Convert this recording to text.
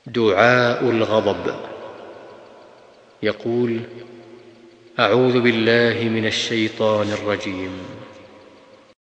دعاء الغضب. يقول: أعوذ بالله من الشيطان الرجيم.